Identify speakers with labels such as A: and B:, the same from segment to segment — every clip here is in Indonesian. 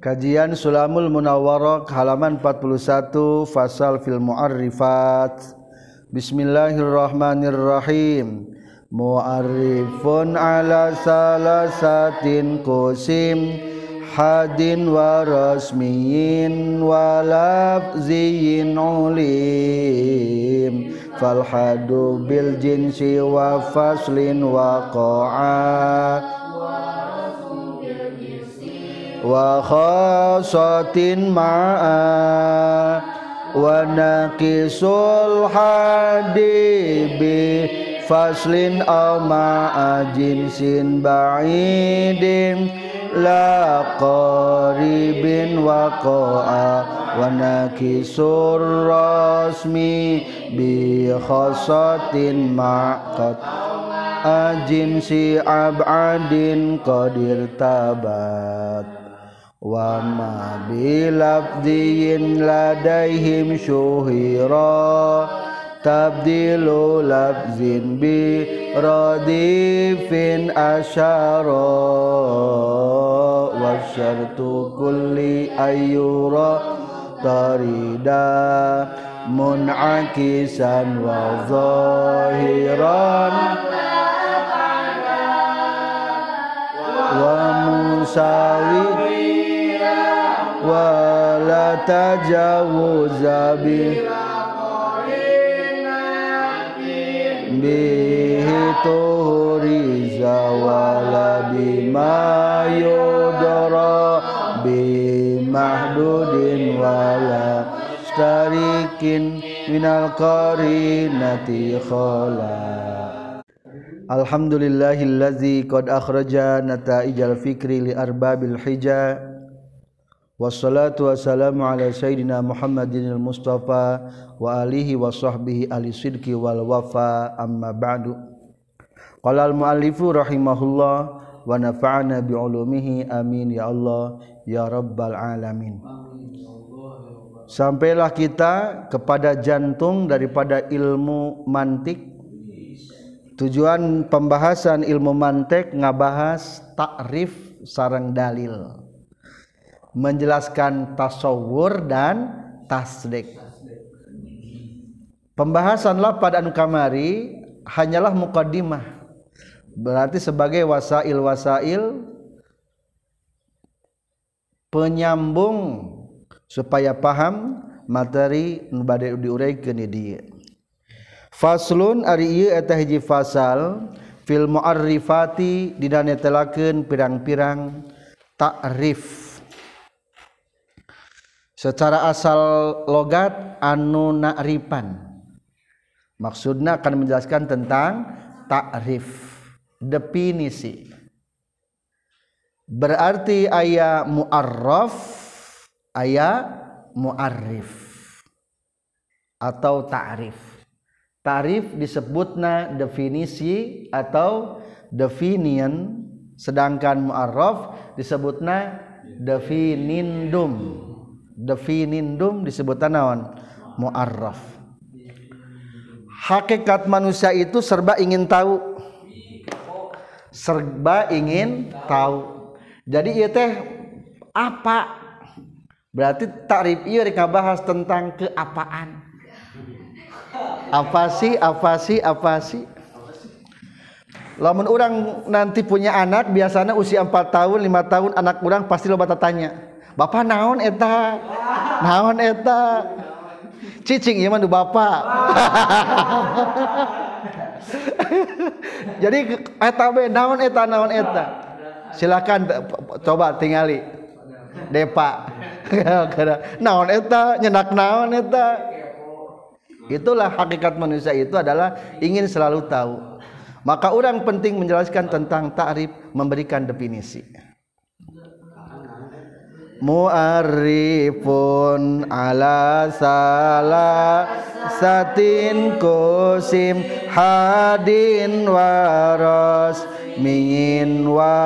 A: Kajian Sulamul Munawwarah halaman 41 fasal fil mu'arrifat. Bismillahirrahmanirrahim. Mu'arrifun ala salasatin qusim hadin wa rasmiyin wa lafziyin ulim fal hadu bil jinsi wa faslin wa qa'at wa khasatin ma'a wa naqisul hadibi faslin aw ma'a jinsin ba'idin la qaribin waqa'a wa nakisur rasmi bi khasatin ma'qat ajinsi ab'adin qadir tabat wa ma bilabdiyin ladaihim syuhira tabdilu lafzin bi radifin asyara wa syartu kulli ayyura tarida mun'akisan wa zahiran wa musawi wa la tajawuza bi bihi tuhriza wala bima yudara bimahdudin wala starikin minal qarinati khala. Alhamdulillahillazi qad akhraja nata'ijal fikri li arbabil hija. Wassalatu wassalamu ala sayyidina Muhammadinil Mustafa wa alihi wa sahbihi ahli sidqi wal wafa amma ba'du. Qala al muallifu rahimahullah wa nafa'ana bi ulumihi amin ya Allah ya rabbal alamin. Sampailah kita kepada jantung daripada ilmu mantik. Tujuan pembahasan ilmu mantik ngabahas takrif sareng dalil, menjelaskan tasawur dan tasdik. Pembahasanlah pada anu kamari hanyalah muqaddimah, berarti sebagai wasail penyambung supaya paham materi nu bade diuraykeun di dieu. Faslun ari ieu eta hiji fasal fil mu'arrifati dina netelakeun pirang-pirang takrif. Secara asal logat anu na'rifan, maksudna akan menjelaskan tentang takrif, definisi. Berarti aya mu'arraf, aya mu'arrif atau ta'rif. Ta'rif disebutna definisi atau definian, sedangkan mu'arraf disebutna definindum. Definindum disebutna naon? Mu'arraf. Hakikat manusia itu serba ingin tahu. Serba ingin tahu. Jadi ieu teh apa? Berarti takrif ieu rek ngabahas tentang keapaan. Apa sih? Lamun orang nanti punya anak, biasanya usia 4 tahun, 5 tahun anak orang pasti loba tanya, "Bapak naon eta?" Naon eta? Cicing ieu mah nu bapak. Jadi eta be naon eta? Silakan coba tingali. Depa. Naon eta? Nyenak naon eta? Itulah hakikat manusia itu adalah ingin selalu tahu. Maka orang penting menjelaskan tentang ta'rif, memberikan definisi. Mu'arrifun ala salasatin qusim hadin waras min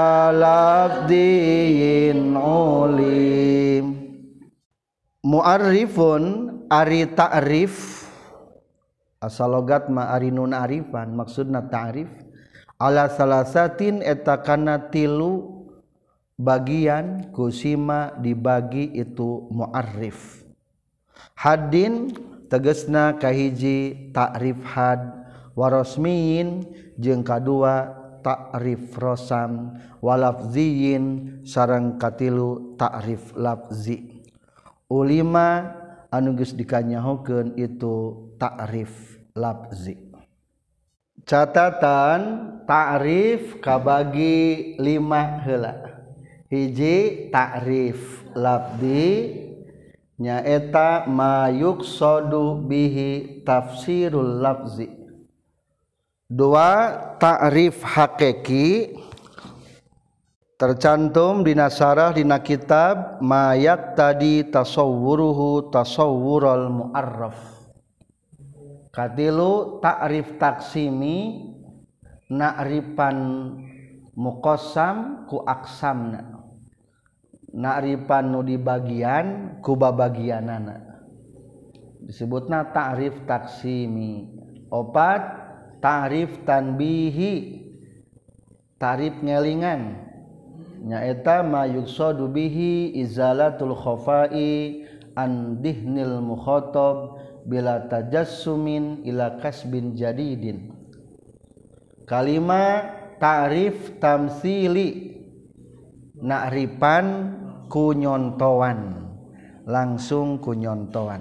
A: walafdiyin ulim. Mu'arrifun ari ta'rif asal logat ma ari nun arifan, maksudna ta'rif ala salasatin eta kana tilu bagian kusima dibagi itu mu'arrif. Haddin tegesna kahiji ta'rif had, warosmiyin jeung kadua ta'rif rosam, walafziyin sareng katilu ta'rif lafzi. Ulima anu geus dikanyahokeun itu ta'rif lafzi. Catatan ta'rif kabagi 5 heula. Hiji ta'rif lafzi nyaeta ma yuqsadu bihi tafsirul lafzi. Dua ta'rif hakiki tercantum dina sarah dina kitab ma yaqtadi tasawwuruhu tasawwurul mu'arraf. Katilu ta'rif taksimi na'rifan muqassam ku aksamna, na'rifan nu dibagian ku babagianana disebutna ta'rif taksimi. Opat ta'rif tanbihi, ta'rif ngelingan nyaeta ma yuqsadu bihi izalatul khafai an dihnil mukhatab bila tajassumin ila kasbin jadidin. Kalima ta'rif tamsili na'rifan kunyontoan, langsung kunyontoan.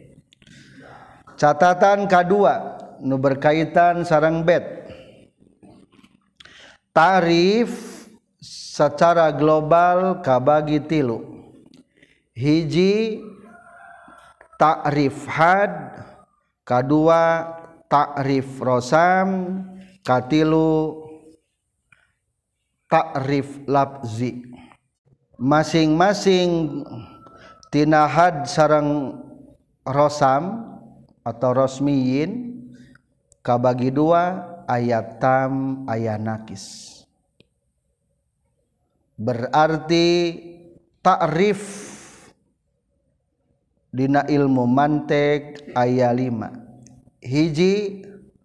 A: Catatan kedua nu berkaitan sareng bet. Ta'rif secara global kabagi tilu. Hiji ta'rif had, kadua ta'rif rosam, katilu ta'rif lafzi. Masing-masing tina had sareng rosam atau rosmiyin kabagi dua, ayat tam ayat nakis. Berarti ta'rif dina ilmu mantek aya 5. Hiji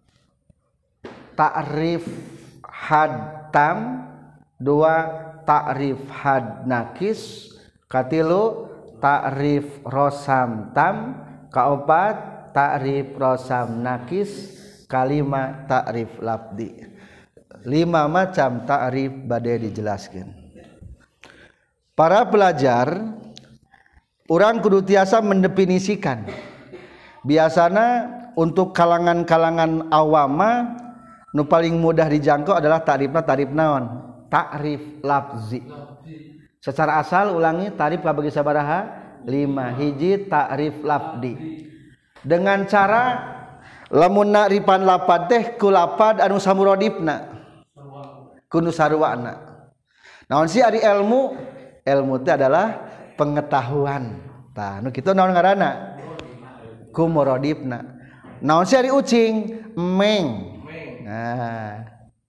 A: ta'rif had tam, dua ta'rif had nakis, katilu ta'rif rosam tam, kaopat ta'rif rosam nakis, kalima ta'rif lafdi. 5 macam ta'rif bade dijelaskeun. Para pelajar, urang kudu tiasa mendefinisikan. Biasana untuk kalangan-kalangan awama nu paling mudah dijangkau adalah ta'rifna ta'rif naon? Ta'rif lafzi. Secara asal ulangi ta'rif kabagi sabaraha? 5. Hiji ta'rif lafdi. Dengan cara lamun na'rifan lapad teh ku lapad anu samuradifna. Kudu sarwana. Naon sih ari ilmu? Ilmu teh adalah pengetahuan. Tah nu kitu naon ngaranna? Kumuradifna. Naon sih ari ucing? Meng. Nah.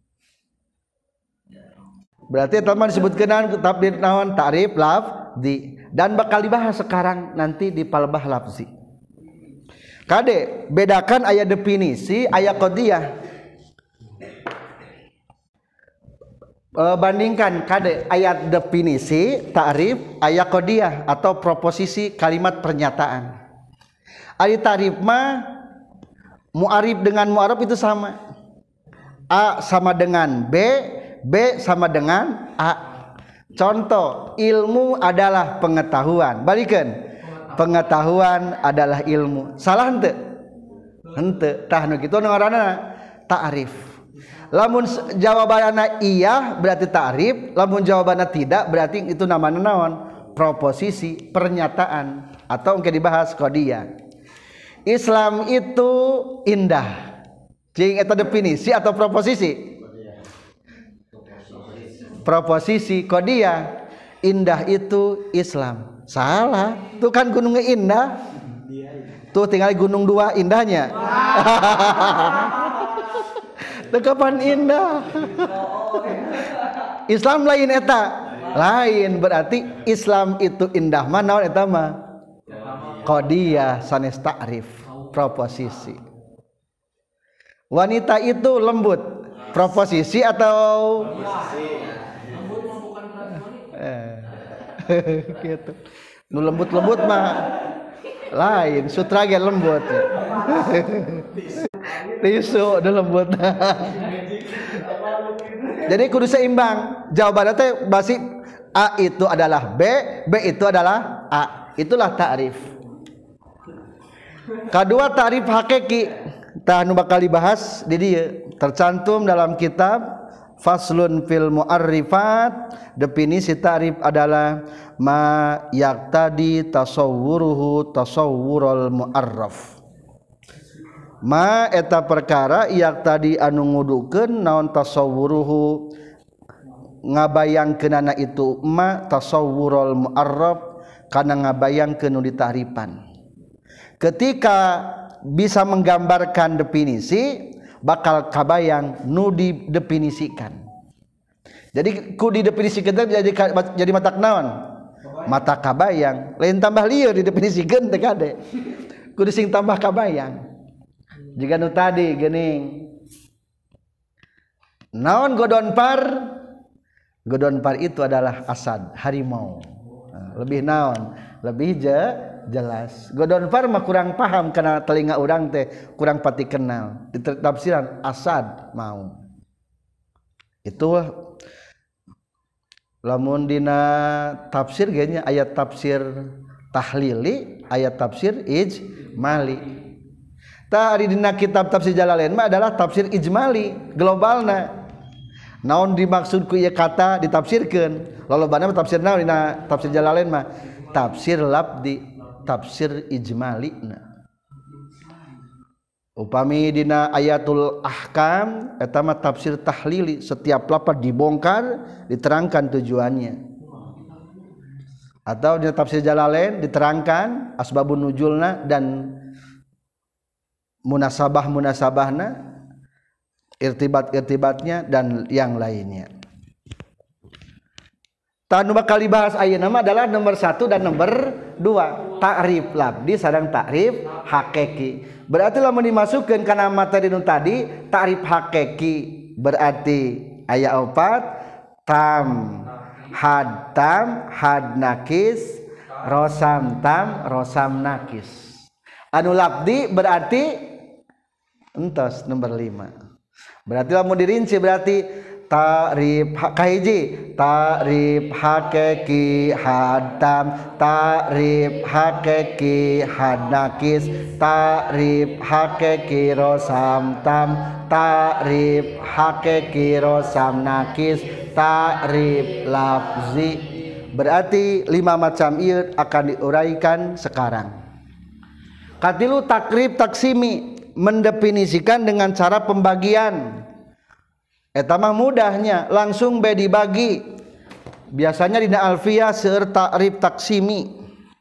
A: Berarti teman disebutkeun tabdid naon ta'rif lafzi dan bakal dibahas sekarang nanti di palbah lafzi. Kade bedakan aya definisi aya qadiyah. Bandingkan kade ayat definisi ta'rif aya qadiyah atau proposisi kalimat pernyataan. Ari ta'rif mah mu'arif dengan mu'arab itu sama. A sama dengan B, B sama dengan A. Contoh, ilmu adalah pengetahuan. Balikeun. Pengetahuan adalah ilmu. Salah henteu? Henteu. Tah nu kitu ngaranna ta'rif. Lamun jawabanna iya berarti ta'rif, lamun jawabanna tidak berarti itu namanya naon? Proposisi, pernyataan atau engke dibahas qadiyah. Islam itu indah. Jeung eta definisi atau proposisi? Proposisi qadiyah. Indah itu Islam. Salah. Tuh kan gunungnya indah. Tuh tinggal gunung 2 indahnya. Kapan indah? Islam lain eta. Lain berarti Islam itu indah mah naon eta mah? Qadiyah sanes ta'rif, proposisi. Wanita itu lembut, proposisi atau gitu. Nu lembut-lembut mah lain, sutra ge lembut. Tisu udah lembut. Jadi kudu seimbang. Jawabannya teh basi A itu adalah B, B itu adalah A. Itulah ta'rif. Kedua ta'rif hakiki. Tah nu bakal dibahas di dieu tercantum dalam kitab Faslun fil Mu'arrifat. Definisi ta'rif adalah ma yaqtadi tasawwuruhu tasawwurul mu'arraf. Ma eta perkara yaqtadi anu ngudukeun naon tasawwuruhu ngabayangkeunana itu ma tasawwurul mu'arraf kana ngabayangkeun nu ditahripan. Ketika bisa menggambarkan definisi bakal kabayang nu didefinisikan. Jadi ku didefinisikan jadi matak naon? Mata kabayang. Lain tambah lieur didefinisikeun teh kade. Kudu sing tambah kabayang. Jika nu tadi geuning. Naon godon par? Godon par itu adalah asad, harimau. Lebih naon? Lebih jelas. Godon par mah kurang paham karena telinga urang teh kurang pati kenal. Di tafsiran asad mau. Itu lamun dina tafsir ge nya ayat tafsir tahlili, ayat tafsir ijmali. Ta ari dina kitab tafsir Jalalain mah adalah tafsir ijmali, globalna. Naon dimaksud ku ieu kata ditafsirkeun? Lolobana mah tafsir naon dina tafsir Jalalain mah? Tafsir labdi, tafsir ijmalina. Upami dina ayatul ahkam eta mah tafsir tahlili, setiap lafaz dibongkar diterangkan tujuannya. Atau dina tafsir Jalalain diterangkan asbabun nuzulna dan munasabahna, irtibat-irtibatnya dan yang lainnya. Tanu bakal dibahas ayeuna mah adalah nomor 1 dan nomor 2, ta'rif labdi sareng ta'rif hakiki. Berarti lamun dimasukkeun kana materi nu tadi ta'rif hakiki berarti aya 4 tam, had nakis, rosam tam, rosam nakis. Anu labdi berarti entos nomor 5. Berarti lamun dirinci berarti ta'rif kahiji ta'rif hakiki hadam, ta'rif hakiki hadnakis, ta'rif hakiki rosam tam, ta'rif hakiki rosam nakis, ta'rif lafzi. Berarti 5 macam ieu akan diuraikan sekarang. Katilu takrib taksimi, mendefinisikan dengan cara pembagian. Eta mah mudahnya langsung be dibagi. Biasanya dina alfiyah seueur ta'rif taksimi.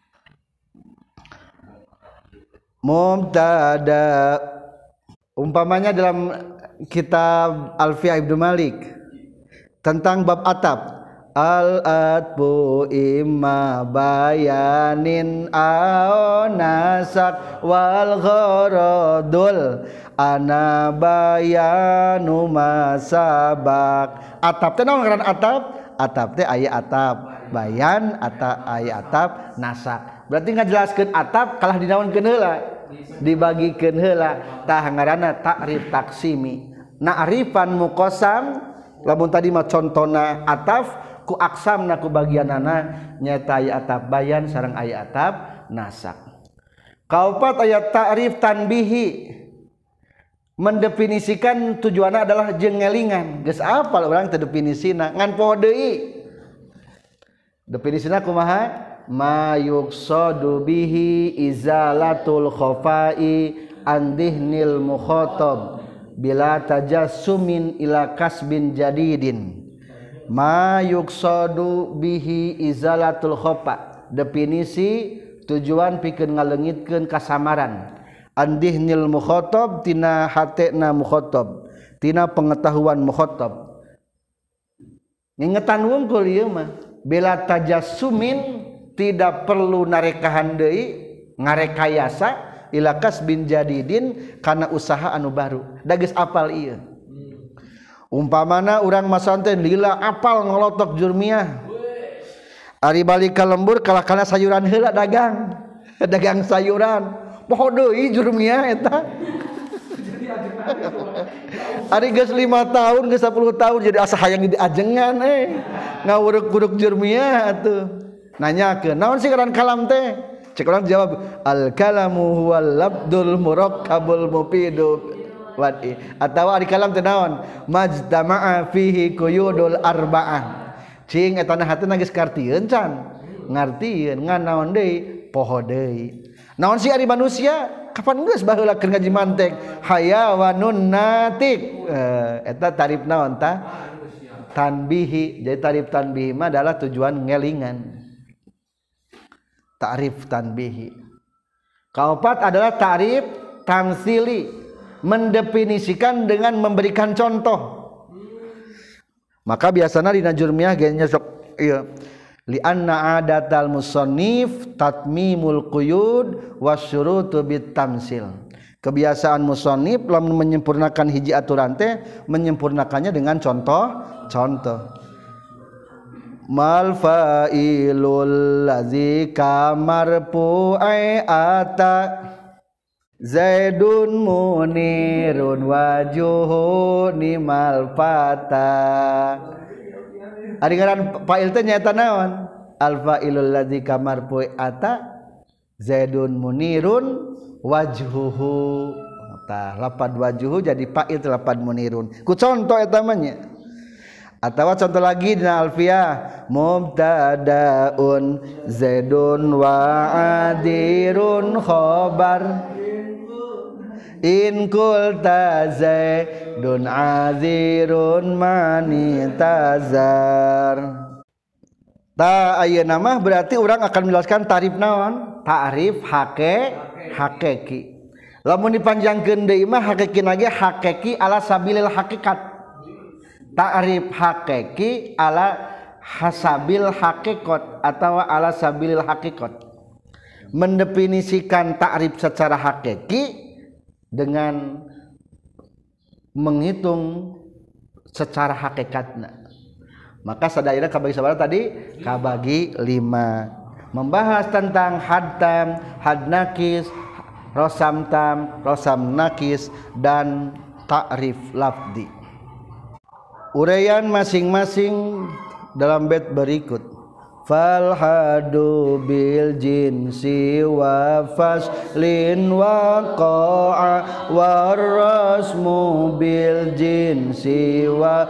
A: Mubtada umpamanya dalam kitab Alfiyah Ibnu Malik tentang bab atap. Al-atbu imma bayanin au nasak wal gharadul ana bayanu masabak. Atap teh naon ngaran atap? Atap teh aya atap bayan, aya atap nasak. Berarti ngajelaskeun atap kalah dinaonkeun heula, dibagikeun heula. Tah ngaranna ta'rif taksimi. Na'rifan muqassam lamun tadi mah contona ataf ku aksamna ku bagianana nyata aya atap bayan sareng aya atap nasak. Kaopat aya ta'rif tanbihi, mendefinisikan tujuanna adalah jengelingan. Geus apal urang teh definisina ngan poho deui. Definisina kumaha? Ma yuqsadu bihi izalatul khafai an dihnil mukhatab bila tajassumin ila kasbin jadidin. Ma yuqsadu bihi izalatul khafa, definisi tujuan pikeun ngaleungitkeun kasamaran. Andihnil mukhatab tina hatena mukhatab, tina pengetahuan mukhatab. Ngingetan wungkul ieu mah bila tajassumin, tidak perlu narekahan deui ngarekayasa ila kasbin jadidin kana usaha anu baru. Da geus apal ieu. Umpamana urang masanten lila apal ngolotok jurmiah, Ari balik ka lembur kalakana sayuran heula dagang. Dagang sayuran. Poho deui jurumnya eta. Ari geus 5 tahun, geus 10 tahun jadi asa hayang diajengan ngawuruk-uruk jurumnya atuh. Nanyakeun, naon sih ngaran kalam teh? Cek urang jawab, al kalamu huwal labdul murakkabul mufidu wadi. Atawa ari kalam teh naon? Majtama'a fihi quyudul arba'ah. Cing eta na hateuna geus kartieun can. Ngartieun ngan naon deui? Poho deui. Naon sih ari manusia? Kapan geus baheula keur ngaji mantek? Hayawanun natik. Eta tarif naon tah? Tanbihi. Jadi tarif tanbihi mah adalah tujuan ngelingan. Ta'rif tanbihi. Kaopat adalah ta'rif tamsili, mendefinisikan dengan memberikan contoh. Maka biasanya di najurmiyah genya sok ieu li anna adatal musannif tatmimul quyud wasyurutu bitamsil. Kebiasaan musannif lamun menyempurnakan hiji aturan teh menyempurnakannya dengan contoh. Mal fa'ilul ladzi kamarfu'i ata Zaidun munirun wajuhu nimal fata. Ari ngaran fa'il teh nyaeta naon? Al fa'ilul ladzi kamarfu'i ata Zaidun munirun wajhuhu. Tah lapad wajhuhu jadi fa'il lapad munirun. Ku contoh eta mah nya. Atawa contoh lagi dina alfiyah mubtadaun zaidun wa adirun khobar in qulta zaidun azirun mani tazar. Ta ayeuna mah berarti urang akan menjelaskan tarif naon? Ta'rif hakiki. Lamun dipanjangkeun deui mah hakiki lagi hakiki ala sabilil hakikat. Ta'rif hakiki ala hasabil hakikat atau ala sabilil hakikat, mendefinisikan ta'rif secara hakiki dengan menghitung secara hakikatna. Maka sadaira kabagi sabaraha tadi? Kabagi 5. Membahas tentang had tam, had nakis, rosam tam, rosam nakis dan ta'rif lafzi. Uraian masing-masing dalam bait berikut. Fal hadu bil jinsi wa faslin wa qa'a war rasmu bil jinsi wa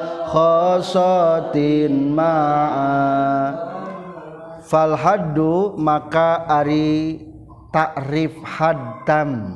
A: khasatin ma'a. Fal hadu maka ari ta'rif haddam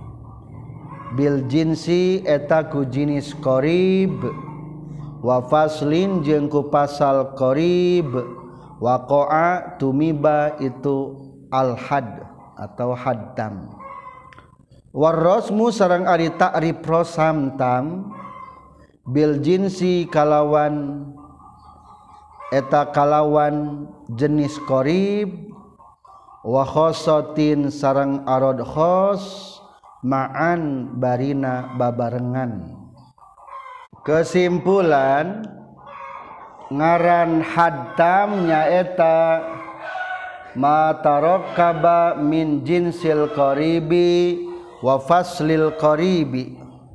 A: bil jinsi eta ku jinis qarib wa faslin jeung ku pasal qarib waqa'a tumiba itu al had atau haddam war rasmu sareng ari ta'rif rosam tam bil jinsi kalawan eta kalawan jenis qarib wa khossatin sareng arad khos ma'an barina babarengan. Kesimpulan ngaran haddam nyaeta ma tarakkaba min jinsil qaribi wa faslil qaribi.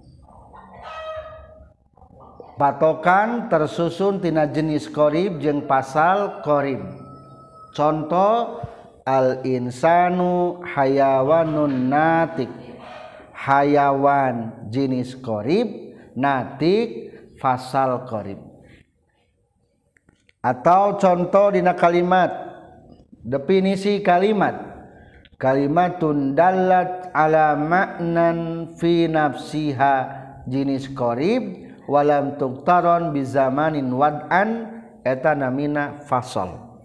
A: Patokan tersusun tina jenis qarib jeung pasal qarib. Contoh al insanu hayawanun natik. Hayawan jenis qarib, natik fasal qarib. Atau contoh dina kalimat, definisi kalimat, kalimatun dallat ala ma'nan fi nafsiha jenis qarib walam tuqtaron bi zamanin wad'an eta namina fasal.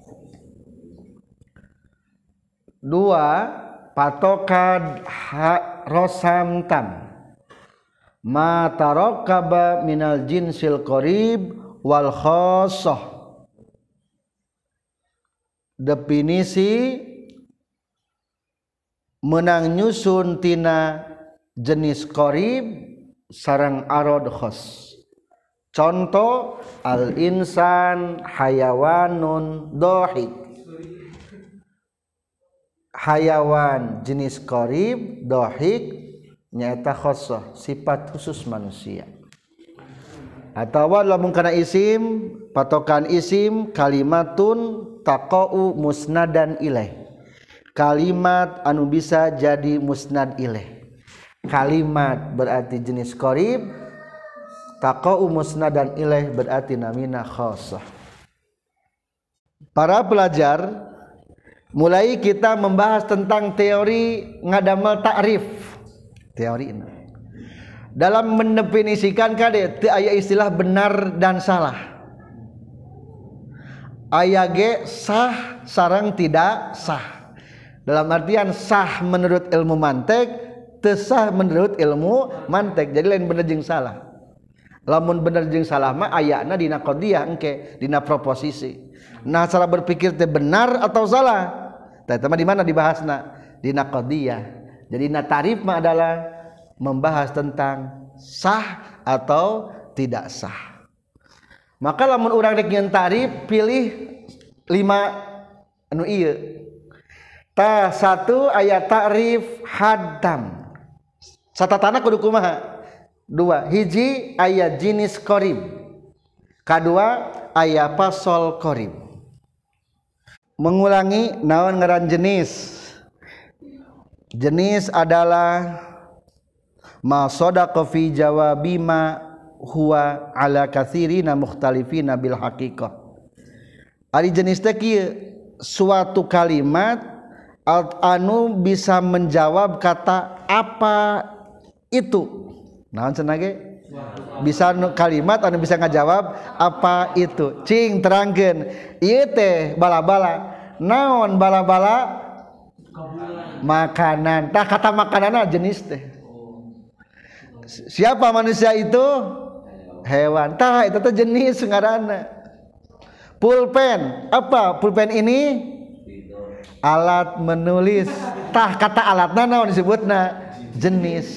A: 2. Patokan rosam tam ma tarakkaba minal jinsil qarib wal khassah. Definisi menang nyusun tina jenis qarib sareng arad khass. Contoh al insan hayawanun dohik. hayawan jenis qarib dohik nyaeta khosoh sifat khusus manusia. Atau lamun kana isim patokan isim kalimatun taqau musnadan ilaih, kalimat anu bisa jadi musnad ilaih. Kalimat berarti jenis qarib, taqau musnadan ilaih berarti namina khosoh. Para pelajar, mulai kita membahas tentang teori ngadamel ta'rif. Teori ini dalam mendefinisikan kade teu aya istilah benar dan salah. Aya ge sah sareng tidak sah. Dalam artian sah menurut ilmu mantek, teu sah menurut ilmu mantek. Jadi lain bener jeung salah. Lamun bener jeung salah mah ayana dina qadiyah engke, dina proposisi. Nah, cara berpikir teh benar atau salah. Tah eta mah di mana dibahasna? Dina qadiyah. Jadi na tarif mah adalah membahas tentang sah atau tidak sah. Maka lamun urang rek nyeun tarif pilih 5 anu ieu. Ta 1 aya ta'rif haddam. Satatana kudu kumaha? 2 hiji aya jenis qarib. Kadua aya fasol qarib. Mengulangi naon ngaran jenis. Jenis adalah ma sadaqa fi jawabi ma huwa ala katsirina mukhtalifina bil haqiqah. Ari jenis teh kieu suatu kalimat anu bisa menjawab kata apa itu. Naon cenah ge? Bisa kalimat anu bisa ngajawab apa itu. Cing terangkeun. Ieu teh bala-bala. Naon bala-bala? Makanan. Tah kata makananna jenis teh. Siapa manusia itu? Hewan. Tah itu teh jenis ngaranna. Pulpen. Apa pulpen ini? Alat menulis. Tah kata alatna naon disebutna? Jenis.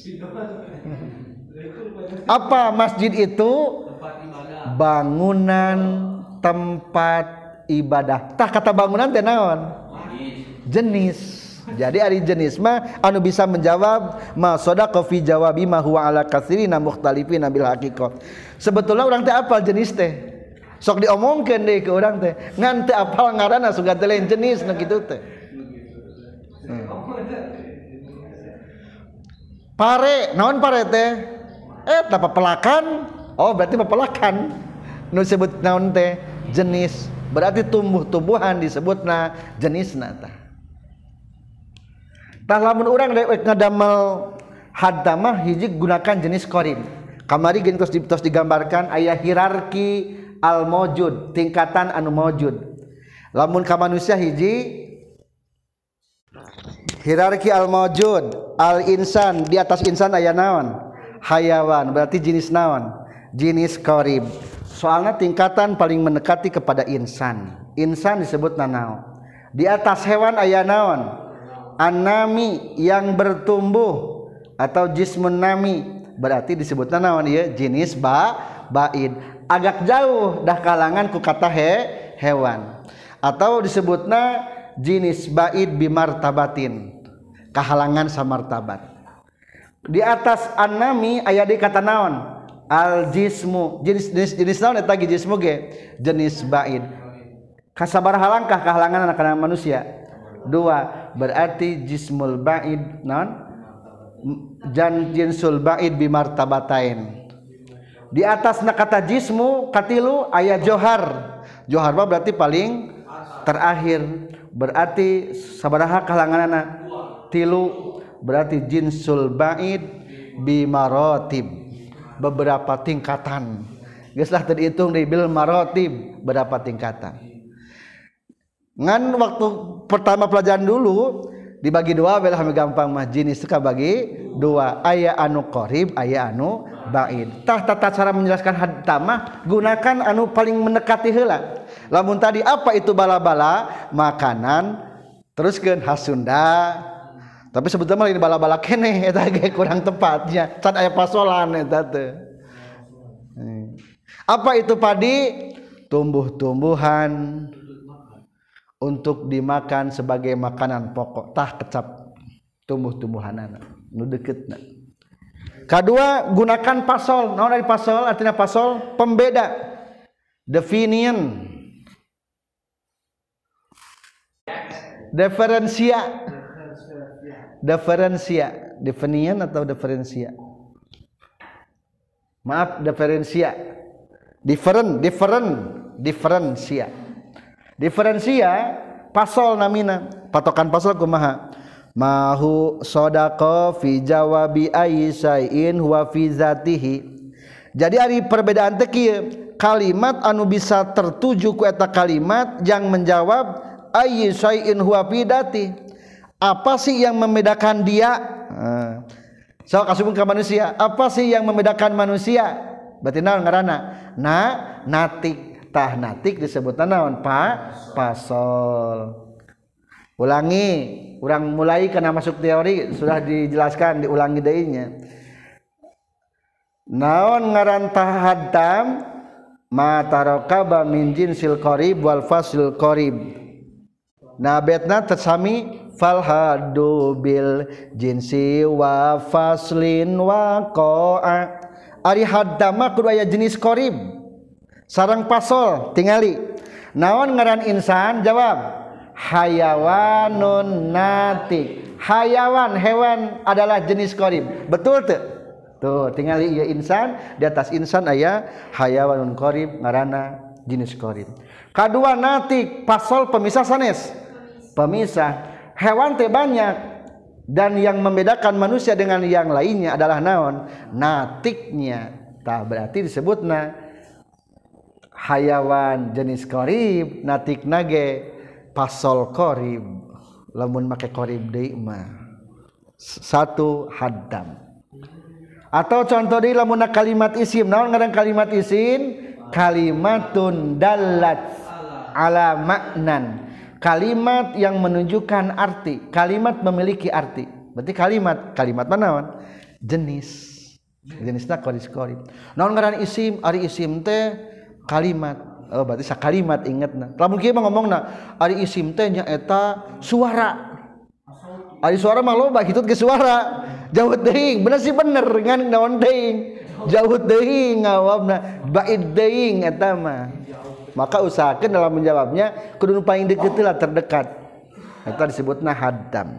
A: Apa masjid itu? Bangunan tempat ibadah. Tah kata bangunan teh naon? Jenis. Jadi ari jenis mah anu bisa menjawab ma sadaqa fi jawabi ma huwa ala katsirina mukhtalifina bil haqiqah. Sebetulnya urang teh apal jenis teh. Sok diomongkeun deui ke urang teh. Ngan teu apal ngaranna sugan teh lain jenis na kitu teh. Pare, naon pare teh? Eta papelakan. Oh, berarti papelakan. Nu disebut naon teh? Jenis. Berarti tumbuh-tumbuhan disebutna jenisna tah. Tah lamun urang ngadamel haddamah hiji gunakan jenis qarib. Kamari geus tos digambarkan aya hierarki al maujud, tingkatan anu maujud. Lamun ka manusia hiji hierarki al maujud, al insan di atas insan aya naon? Hayawan, berarti jenis naon? Jenis qarib. Soalnya tingkatan paling mendekati kepada insan. Insan disebut naon? Di atas hewan aya naon? Anami yang bertumbuh atau jismun nami berarti disebutna naon ieu jenis baid. Agak jauh dah kalangan ku kata hewan atau disebutna jenis baid bimartabatin kahalangan samartabat. Di atas anami aya di kata naon? Al jismu. Jenis naon eta jismu ge? Jenis baid. Kasabaraha langkah kahalangan anak manusia? 2. Berarti jismul ba'id non jinsul ba'id bimartabatain. Di atas kata jismu katilu aya johar. Johar berarti paling terakhir. Berarti sabaraha kalanganana? Tilu. Berarti jinsul ba'id bimarotib. Beberapa tingkatan. Geus lah teu dihitung di bil marotib berapa tingkatan. Ngan waktu pertama pelajaran dulu dibagi 2 belah gampang mah jenis itu bagi 2 aya anu qarib aya anu baid. Tah tata cara menjelaskan haddamah gunakan anu paling mendekati heula. Lamun tadi apa itu bala-bala makanan teruskeun hasunda. Tapi sebetulnya lain bala-bala keneh eta ge kurang tepatnya. Can aya pasolan eta teh. Apa itu padi? Tumbuh-tumbuhan. untuk dimakan sebagai makanan pokok tah kecap tumbuh-tumbuhanana nu deuketna. Kadua gunakan pasol. Naon dari pasol? Artinya pasol pembeda, definian, diferensia, definian atau diferensia? Maaf, diferensia. Diferensia. Diferensia pasol namina. Patokan pasol kumaha? Mahu sodaqo fi jawabi ayyisai'in huwa fi zatihi. Jadi ari perbedaan teh kieu, kalimat anu bisa tertuju ku eta kalimat yang menjawab ayyisai'in huwa fi dzati. Apa sih yang membedakan dia? So kasubun ka manusia, apa sih yang membedakan manusia? Berarti naon ngaranna? Natik. Tah natik disebutna naon? Pasol. Ulangi, urang mulai kana masuk teori sudah dijelaskan, diulangi deui nya. Naon ngaran tahaddam? Ma tarakaba min jinsil qarib wal fasil qarib. Nah betna tersami falhadu bil jinsi wa faslin wa qa'a. Ari haddama kudu aya jenis qarib sareng pasol tingali. Naon ngaran insan? Jawab hayawanun natik. Hayawan, hewan adalah jenis qarib. Betul teu? Tuh tingali ieu insan, di atas insan aya hayawanun qarib ngaranna jenis qarib. Kadua natik, pasol pemisah sanes. Pemisah. Hewan teh banyak dan yang membedakan manusia dengan yang lainnya adalah naon? Natiknya. Tah berarti disebutna hayawan jenis qarib, natik nage pasol qarib. Lamun make qarib deui mah satu haddam. Atau contoh deui lamun kalimat isim, naon ngaran kalimat isim? Kalimatun dallat ala maknan. Kalimat yang menunjukkan arti. Kalimat memiliki arti. Berarti kalimat mana naon? Jenisna qarib. Naon ngaran isim? Ari isim teh kalimat. Oh berarti sakalimat ingetna. Lamun kieu mah ngomongna ari isim teh nya eta suara. Ari suara mah loba hitut ke suara. Jauh teuing, bener sih bener ngan naon teuing. Jauh teuing ngawabna, ba'id teuing eta mah. Maka usahakan dalam menjawabnya kudu paling deket lah, terdekat. Itu disebutna haddam.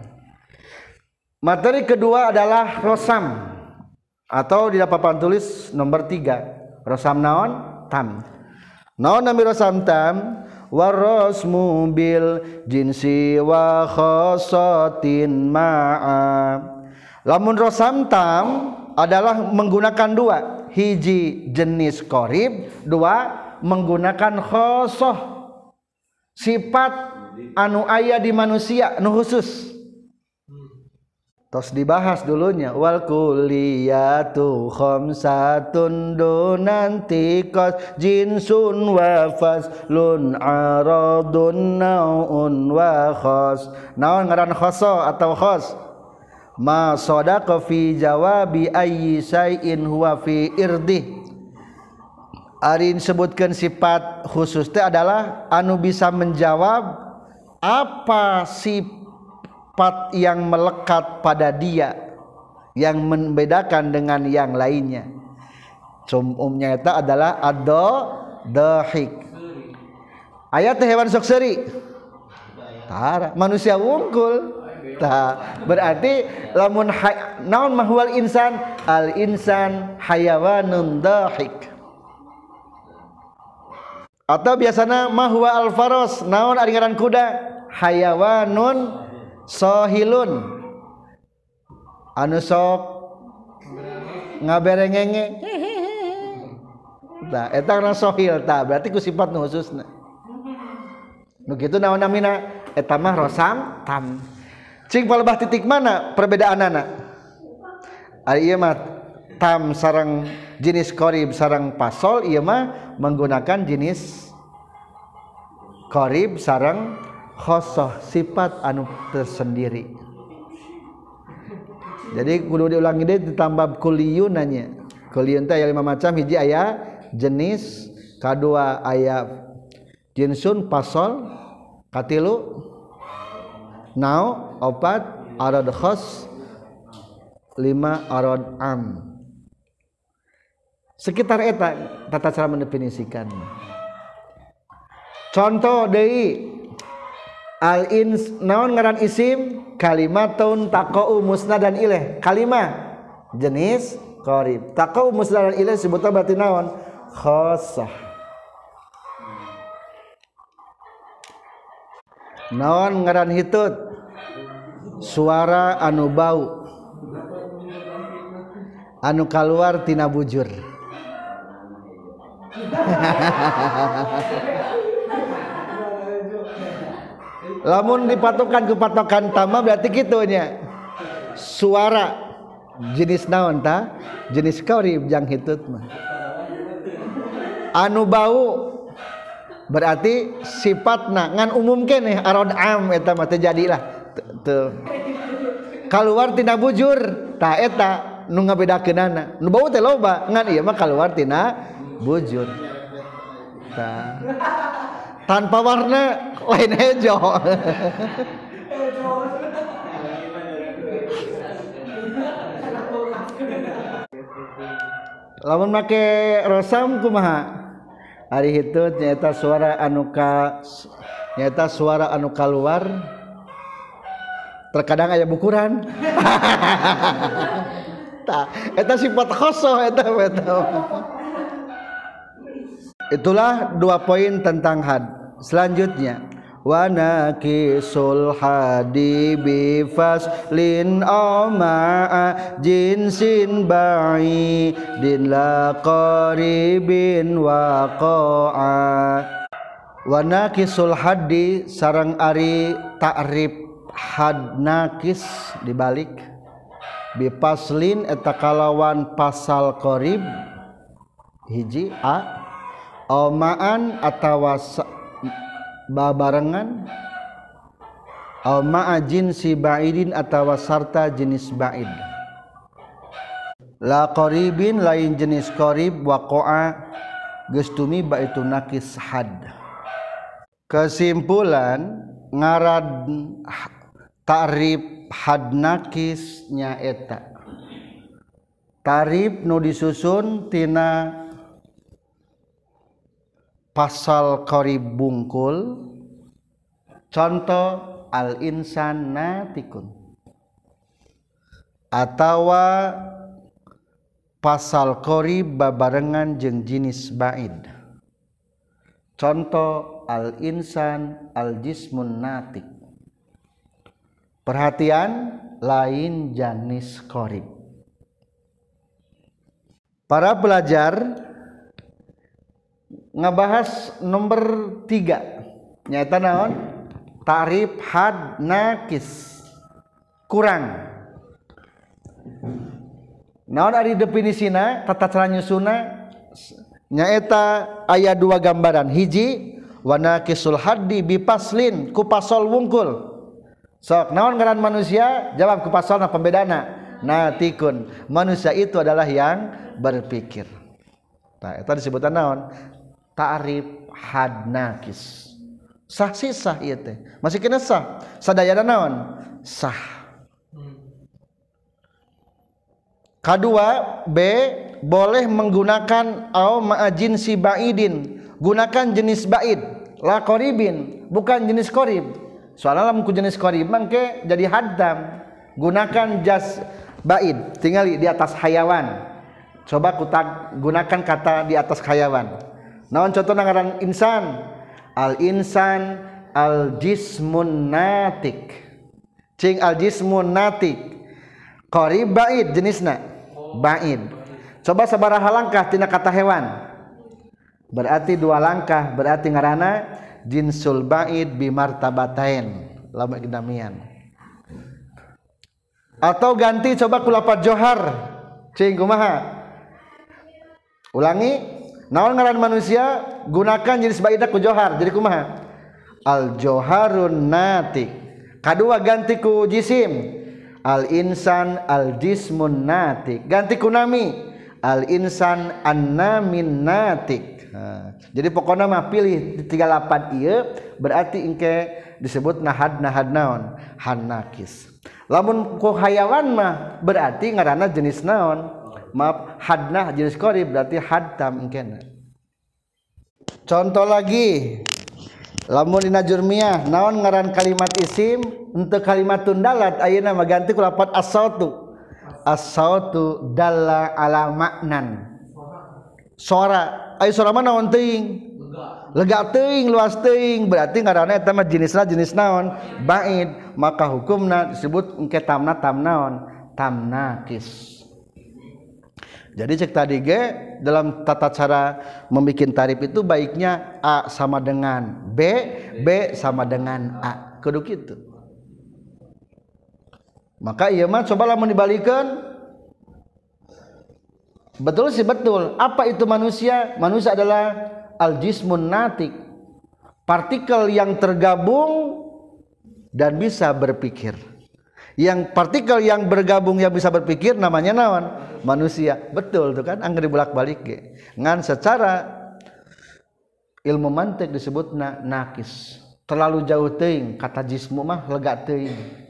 A: Materi kedua adalah rosam atau di papan tulis nomor 3. Rosam naon? Tam. Naon nami rosam tam? Warosmu bil jinsi wa khosotin ma'a. Lamun rosam tam adalah menggunakan dua. Hiji jenis qarib, dua menggunakan khosoh, sifat anu aya di manusia nu khusus. Tos dibahas dulunya wal kulliyatu khamsatun dunantiqas jinsun wa faslun aradun naun wa khas. Naon ngaran khoso atau khos? Ma sadaqa fi jawabi ayyi shay'in huwa fi irdih. Ari disebutkan sifat khusus itu adalah anu bisa menjawab apa sifat yang melekat pada dia yang membedakan dengan yang lainnya. Umumnya itu adalah ad-dhahik. Ayat hewan sok seuri. Tara manusia wungkul. Tah berarti lamun naon mahwal insan? Al insan hayawanun dhahik. Atau biasanya mahwa al-faros, naon ari ngaran kuda? Hayawanun sohilun, anu sok ngaberengenge. Tah eta ngaran sohil, tah berarti ku sifat nu khususna. Nu kitu naon namina? Eta mah rosam tam. Cing palebah titik mana perbedaanana? Ari ieu mah tam sareng jenis qarib sareng pasol, ieu mah menggunakan jenis qarib sareng khosoh, sifat anu tersendiri. Jadi kudu diulangi deui ditambah kulliyun nanya. Kulliyun teh aya 5 macam, hiji aya jenis, kadua aya jinsun pasol, katilu nau opat arad khos 5 arad am sekitar eta tata cara mendefinisikan contoh deui al ins naon ngaran isim kalimatun taqau musnadan ilaih kalimah jenis qarib taqau musnadan ilaih sebutna berarti naon khassah naon ngaran hitut suara anu bau anu kaluar tina bujur lamun dipatokan ke patokan tama berarti kitu nya suara jenis naon ta jenis qarib jang hitut mah anu bau berarti sifatna ngan umum keneh arad am eta mah teu jadilah teu kaluar tina bujur tah eta nu ngabedakeunana nu bau teh loba ngan ieu mah kaluar tina bujur tah tanpa warna lain hejo lamun make rosam kumaha ari hitut nyaeta suara anu nyaeta suara anu kaluar terkadang aya bukuran tah eta sifat khosoh eta itulah 2 poin tentang had selanjutnya wa naqisul hadi bi faslin ma'a jinsin ba'idin la qaribin waqa'a wa naqisul hadi sareng ari ta'rif had naqis dibalik bi faslin eta kalawan pasal qarib hiji a ma'an atawa babarengan ma'a jinsi ba'idin atawa sarta jenis ba'id la qaribin lain jenis qarib waqa'a geus tumiba itu naqis had kesimpulan ngarad ta'rif had naqis nya eta ta'rif nu disusun tina pasal qarib bungkul contoh al insan natikun atawa pasal qarib babarengan jeung jenis ba'id contoh al insan al jismun natik perhatian lain jenis qarib para pelajar ngabahas nomor 3 nyata naon ta'rif had naqis kurang naon ari definisina tata cara nyusuna nyaeta aya 2 gambaran hiji wa naqisul haddi bi paslin ku pasal wungkul sok naon ngaran manusia jawab ku pasalna pembedana natikun manusia itu adalah yang berpikir tah eta disebutan naon ta'rif had naqis sah sih sah ieu teh masih kena sah sadayana naon sah kedua B boleh menggunakan au ma'ajin si ba'idin gunakan jenis ba'id la qaribin bukan jenis qarib soalnya lamun ku jenis qarib mangke jadi haddam gunakan jas ba'id tinggali di atas hayawan coba gunakan kata di atas hayawan naon contohna ngaran insan al insan al jismun natik cing al jismun natik qarib ba'id jenisna ba'id coba sabaraha langkah tina kata hewan berarti 2 langkah berarti ngaranna jinsul ba'id bi martabatain lama gedamian atau ganti coba ku lafaz johar cing kumaha ulangi naon ngaran manusia gunakan jenis ba'idna ku johar jadi kumaha al joharun natik kadua ganti ku jisim al insan al jismun natik ganti ku nami al insan an namin natik Jadi pokoknya mah pilih di 38 ieu berarti engke disebut nahad naon hanakis. Lamun ku hayawan mah berarti ngaranna jenis naon? Maaf, hadnah jenis qarib berarti hadtam engkena. Contoh lagi. Lamun dina jurmiyah naon ngaran kalimat isim untuk kalimatun dalat ayeuna mah ganti ku lafaz as-sautu. As-sautu dalla ala maknan. Suara, aya suara mah naon teuing? Lega teuing, luas teuing, berarti ngaranna eta mah jenisna jenis naon? Ba'id, maka hukumna disebut engke tamna tam naon? Tam nakis. Jadi cek tadi ge dalam tata cara membuat tarif itu baiknya A sama dengan B, B sama dengan A. Kudu kitu. Maka ieu mah coba lamun dibalikeun. Betul sih betul. Apa itu manusia? Manusia adalah al-jismun natik. Partikel yang tergabung dan bisa berpikir. Yang partikel yang bergabung yang bisa berpikir namanya naon? Manusia. Betul tuh kan, angger dibolak-balik ge. Ngan secara ilmu mantik disebutna nakis. Terlalu jauh teuing kata jismu mah lega teuing.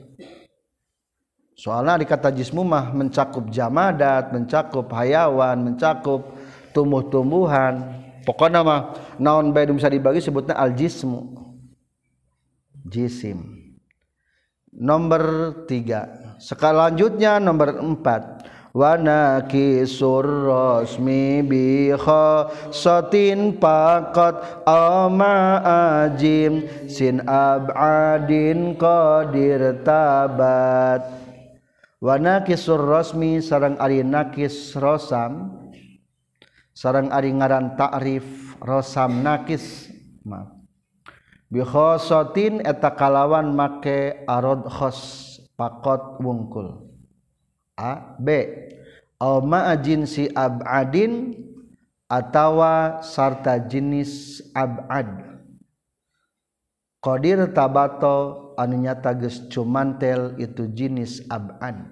A: Soalnya di kata jismu mah mencakup jamadat, mencakup hayawan, mencakup tumbuh-tumbuhan. Pokoknya mah naon bae bisa dibagi sebutna al-jismu. Jisim. Nomor 3. Selanjutnya nomor 4. Wa nakisur rasmi bi khasatin faqat ama ajim sin ab'adin qadir tabat. Wa nakisur rasmi sareng ari nakis rosam sareng ari ngaran ta'rif rosam nakis maaf bi khasatin eta kalawan make arad khas faqat wungkul. A B au ma'ajin si ab'adin atawa sarta jenis ab'ad qadir tabato anu nyata geus cumantel itu jenis ab'ad.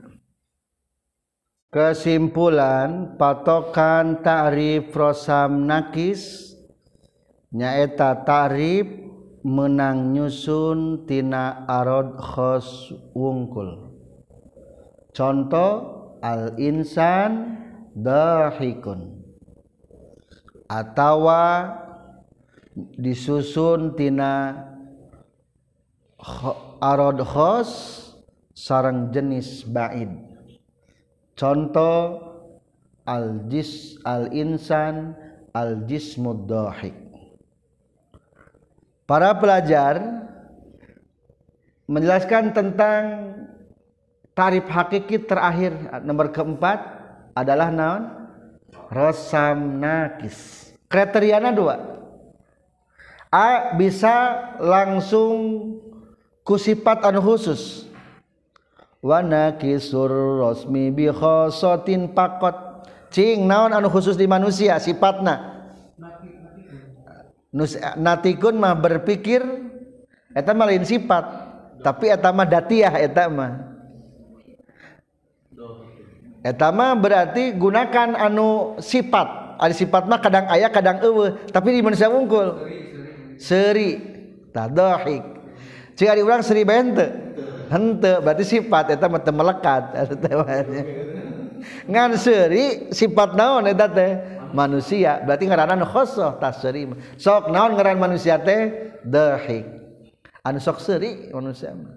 A: Kesimpulan patokan ta'rif rosam nakis nyaeta ta'rif menang nyusun tina arad khas wungkul. Contoh al-insan dahikun atawa disusun tina arad khas sareng jenis ba'id. Contoh al-insan al-jismud dahik. Para pelajar menjelaskan tentang tarif hakiki terakhir nomor keempat adalah naon? Rosam nakis. Kriteriana 2. A bisa langsung ku sifat anu khusus. Wa nakisur rasmi bi khasatin faqat. Cing naon anu khusus di manusia sifatna? Natikun mah berpikir eta mah lain sifat, tapi eta mah datiyah eta mah. Eta mah berarti gunakan anu sifat. Ari sifat mah kadang aya kadang eueuh, tapi di manusia wungkul. Seuri, tadahik. Cing ari urang seuri bae henteu. Henteu berarti sifat eta mah teu melekat eta mah. Ngan seuri sifat naon eta teh? Manusia berarti ngaranna khosoh tasri. Sok naon ngaran manusia teh? Dahik. Anu sok seuri manusia mah.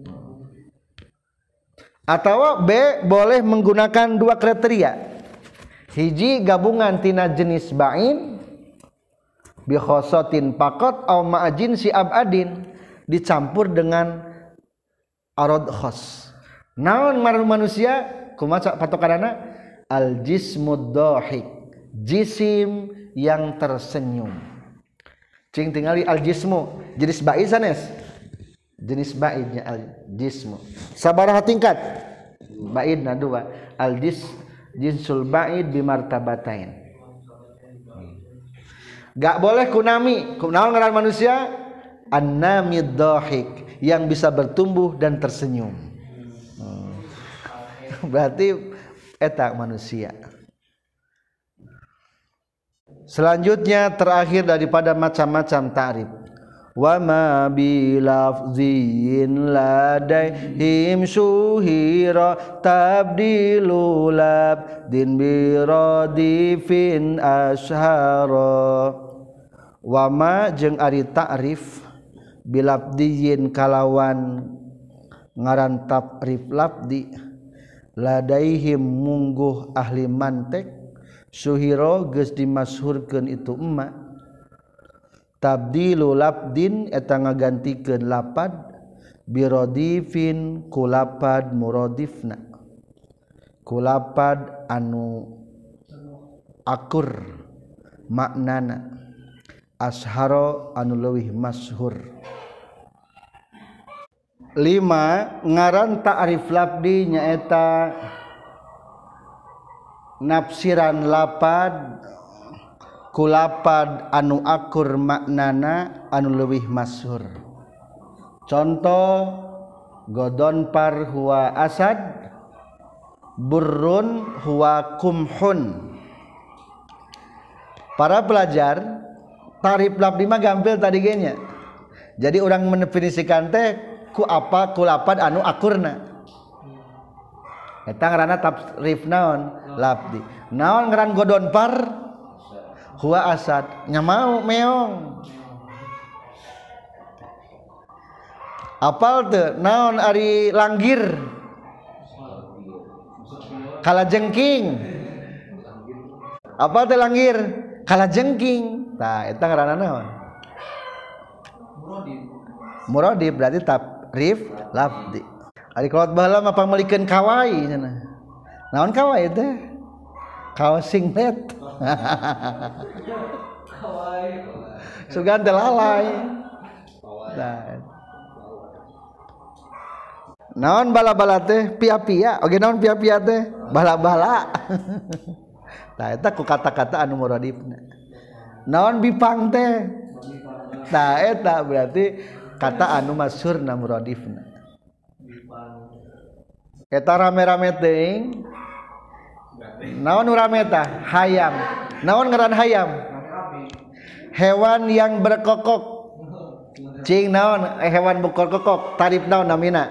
A: Atau B boleh menggunakan 2 kriteria. Hiji gabungan tina jenis ba'in bi khasatin faqat au ma'ajin si abadin dicampur dengan arad khas. Naon manusia kumaha patokanana? Al jismud dahik. Jisim yang tersenyum. Cing tingali al jismu jenis ba'id sanes. Jenis ba'idnya al jismu. Sabaraha tingkat? Ba'idna 2. Al jinsul ba'id bi martabatain. Gak boleh kunami. Kunaon ngaran manusia? An-namid dhahik, yang bisa bertumbuh dan tersenyum. Berarti eta manusia. Selanjutnya terakhir daripada macam-macam ta'rif. Wa ma bi lafzin ladaihim syuhira tabdilu labdin bi radifin ashara. Wa ma jeung ari ta'rif bilabdiyin kalawan ngaran ta'rif labdi ladaihim mungguh ahli mantek syuhira geus dimasyhurkeun itu emak tabdilu labdin eta ngagantikeun lapad birodifin kulapad muradifna kulapad anu akur maknana asharo anu leuwih masyhur. 5 ngaran ta'rif labdi nyaeta nafsiran lapad kulapad anu akur maknana anu leuwih masyhur. Contoh godon par huwa asad burrun huwa kumhun. Para pelajar ta'rif labdi mah gampil tadi ge nya. Jadi orang mendefinisikan teh ku apa kulapad anu akurna. Eta ngaranna ta'rif naon labdi. Naon ngaran godon par huwa asad nya mau meong. Apal teu naon ari langgir kalajengking. Apal teu langgir kalajengking. Tah eta ngaranna naon? Muradif berarti ta'rif labdi. Ari kolot baheula mah pameulikeun kawai cenah. Naon kawai teh? Kaos singlet. Sugan teh lalai. Naon bala-bala teh? Pia-pia. Oge naon pia-pia teh? Bala-bala. Tah eta ku kata-kata anu muradifna. Naon bipang teh? Tah eta berarti kata anu masyhurna muradifna. Eta rame-rame teuing. Naon rame tah? Hayam. Naon ngaran hayam? Hewan yang berkokok. Cing naon hewan berkokok? Tarif naon namina?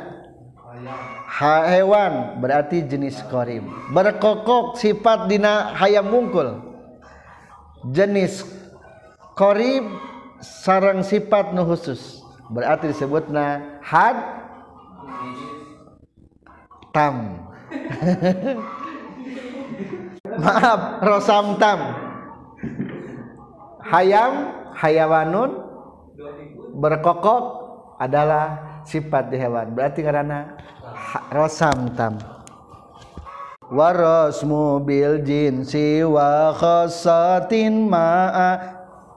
A: Hewan berarti jenis qorib. Berkokok sifat dina hayam mungkul. Jenis qorib sareng sifat nu khusus. Berarti disebutna had tam. Maaf, rosam tam. Hayam, hayawanun berkokok adalah sifat di hewan. Berarti karena rosam tam. Warasmu bil jinsi wa khassatin ma'a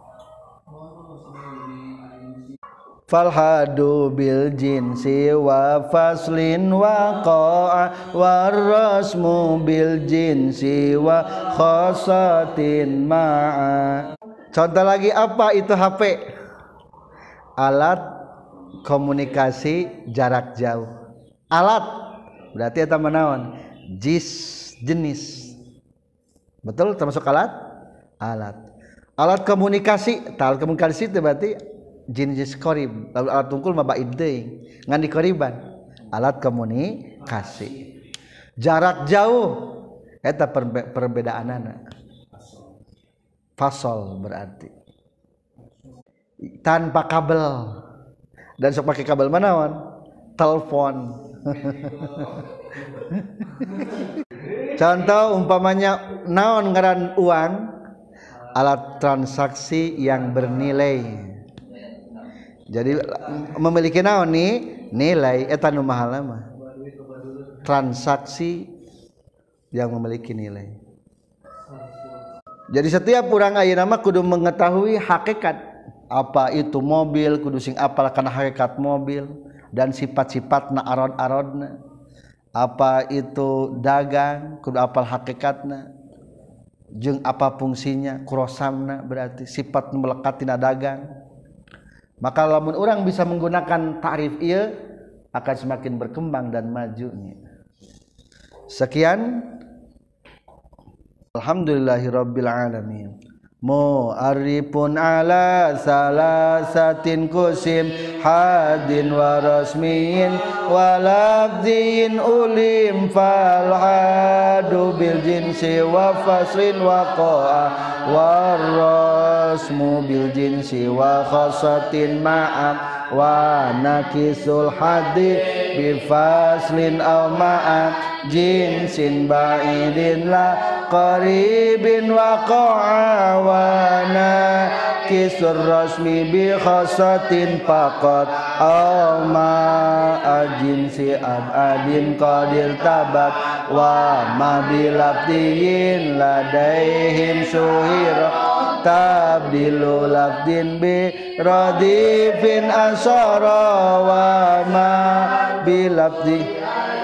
A: falhadu bil jinsi wa faslin wa qa'a warasmu bil jinsi wa khassatin ma'a. Contoh lagi apa itu HP? Alat komunikasi jarak jauh. Alat berarti eta manaon? Jenis. Betul termasuk alat? Alat. Alat komunikasi, alat komunikasi itu berarti jenis qorib. Lalu alat tungkul mah baid deui. Ngan di qoriban. Alat komunikasi. Jarak jauh eta perbedaanana. Fasol berarti tanpa kabel. Dan sok pakai kabel manaon? Telepon. Contoh umpamanya naon ngaran uang? Alat transaksi yang bernilai. Jadi memiliki naon nih? Nilai eta nu mahal mah. Transaksi yang memiliki nilai. Jadi setiap orang ayeuna mah kudu mengetahui hakikat apa itu mobil, kudu sing apal kana hakikat mobil dan sifat-sifatna arod-arodna. Apa itu dagang, kudu apal hakikatna. Jeung apa fungsinya, kurosamna berarti sifat nu melekat tina dagang. Maka lamun orang bisa menggunakan ta'rif ieu akan semakin berkembang dan majunya. Sekian. Alhamdulillahirabbil alamin. mu'arifun ala salasatin kusim hadin wa rasmin wa lafzin ulim fal hadu bil jinsi wa faslin wa qa'a wa rasmu bil jinsi wa khasatin ma'am wa nakisul hadi bi faslin aw ma'am jinsin ba'idin la qaribin waqa'a wa nakisur rasmi bi khasatin faqat aw ma'a jinsi abadin qadir tabat wa ma bilabdiyin ladaihim suhira tabdilu labdin bi radifin asara wa ma bilabdi.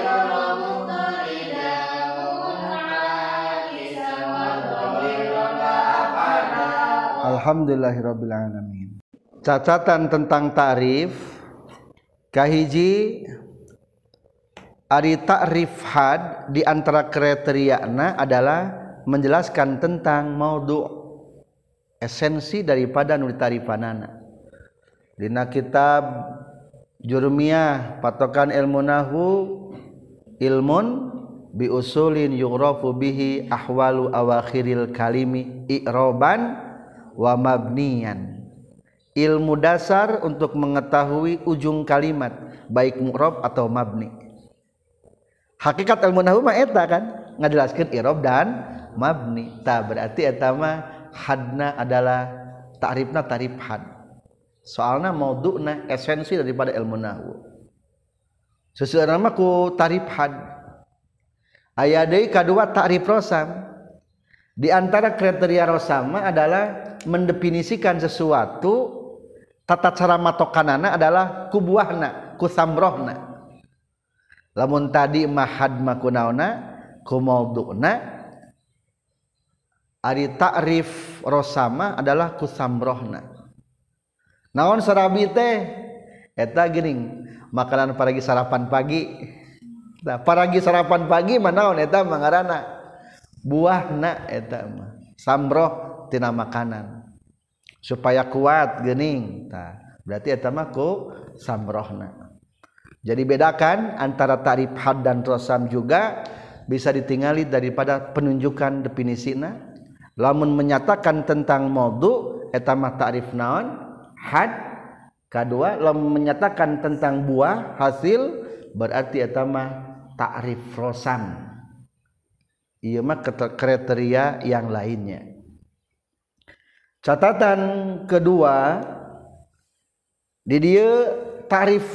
A: Alhamdulillahirabbil alamin. Catatan tentang ta'rif kahiji ari ta'rif had di antara kriteriana adalah menjelaskan tentang maudhu' esensi daripada nu ditarifanana. Dina kitab Jurmiyah patokan ilmu nahwu ilmun bi usulin yughrafu bihi ahwalu awakhiril kalimi i'roban wa mabniyan, ilmu dasar untuk mengetahui ujung kalimat baik mu'rab atau mabni. Hakikat ilmu nahwu mah eta kan ngajelaskeun i'rab dan mabni. Tah berarti eta mah hadna adalah ta'rifna ta'rif had. Soalna maudhu'na esensi daripada ilmu nahwu. Seseueurna mah ku ta'rif had. Aya deui kadua ta'rif rosam. Di antara kriteria rosam adalah mendefinisikan sesuatu tata cara matokanana adalah ku buahna, ku samrohna. Lamun tadi mahad makunauna ku maudhu'na, ari ta'rif rosama adalah ku samrohna. Naon sarabi teh? Eta geuning makanan paragi sarapan pagi. Nah, paragi sarapan pagi mah naon eta mah ngaranna? Buahna eta mah. Samroh tina makanan supaya kuat geuning. Tah, berarti eta mah ku samrohna. Jadi bedakan antara ta'rif had dan rosam juga bisa ditingali daripada penunjukan definisina. Lamun menyatakan tentang maudhu eta mah ta'rif naon? Had. Kadua lamun menyatakan tentang buah hasil berarti eta mah ta'rif rosam. Ieu mah kriteria yang lainnya. Catatan kedua di dieu ta'rif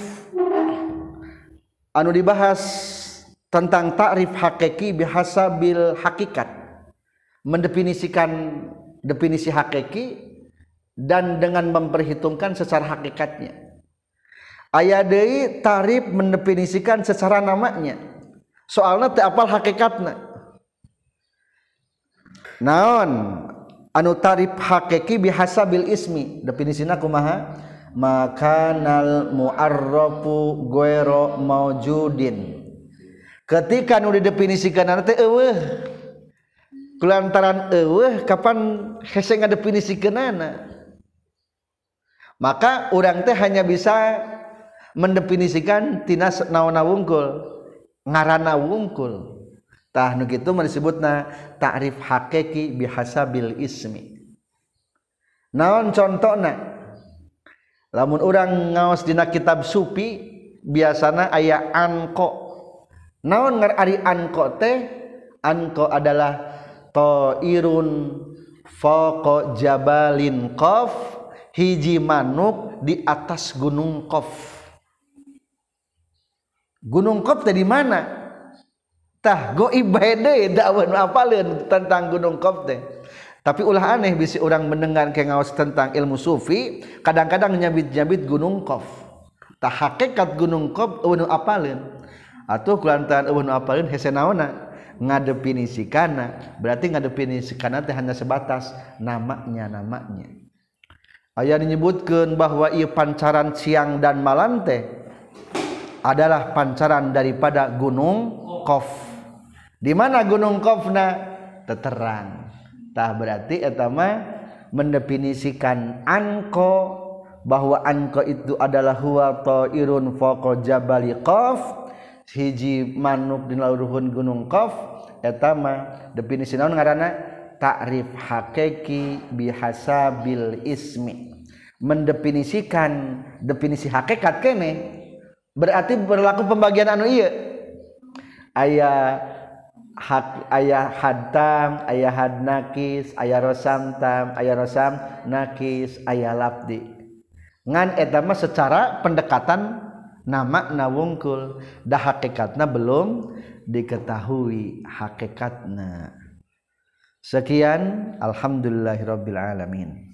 A: anu dibahas tentang ta'rif hakiki bihasabil hakikat, mendefinisikan definisi hakiki dan dengan memperhitungkan secara hakikatnya. Aya deui ta'rif mendefinisikan secara namanya. Soalna teu apal hakikatna. Naon anu ta'rif hakiki bihasabil ismi, definisina kumaha? Makanal mu'arrafu ghairu maujudin. Ketika nu didefinisikeun teh eueuh. Kulantaran eueuh kapan hese ngadefinisikeunana? Maka urang teh hanya bisa mendefinisikan tina naonna wungkul, ngaranna wungkul. Tah nu kitu mah disebutna ta'rif hakiki bihasabil ismi. Naon contona? Lamun urang ngaos dina kitab sufi biasana aya anko. Naon ari anko teh? Anko adalah ta'irun faqa jabalin qaf, hiji manuk di atas gunung Qaf. Gunung Qaf teh di mana? Tah goib bae deui dakwah apaleun tentang gunung Qaf teh. Tapi ulah aneh bisi urang mendengar ke ngaos tentang ilmu sufi, kadang-kadang nyabit-nyabit gunung Qaf. Tah hakikat gunung Qaf eueuh apaleun. Atuh kulantaran eueuh apaleun hese naonna? Ngadefinisikanna. Berarti ngadefinisikanna teh hanya sebatas namanya. Aya menyebutkeun bahwa ieu pancaran siang dan malam teh adalah pancaran daripada gunung Qaf. Di mana gunung Qafna? Terang. Tah berarti eta mah mendefinisikan anko bahwa anko itu adalah huwa ta'irun fawqa jabali qaf hiji manuk dina luhurun gunung qaf eta mah definisi naon ngaranna ta'rif hakiki bihasabil ismi mendefinisikan definisi hakikat kene berarti berlaku pembagian anu ieu aya hadtam aya had nakis aya rosam tam aya rosam nakis aya labdi ngan eta mah secara pendekatan nama na wungkul dah hakikatna belum diketahui hakikatna. Sekian alhamdulillahirabbil alamin.